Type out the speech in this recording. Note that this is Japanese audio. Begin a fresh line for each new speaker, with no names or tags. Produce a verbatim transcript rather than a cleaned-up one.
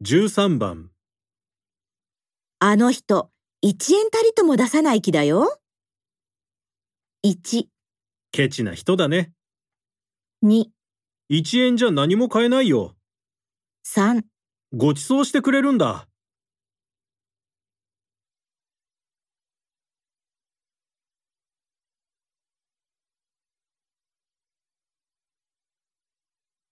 じゅうさんばん。
あの人、一円たりとも出さない気だよ。いち、
ケチな人だね。
に、
いちえんじゃ何も買えないよ。
さん。
ご馳走してくれるんだ。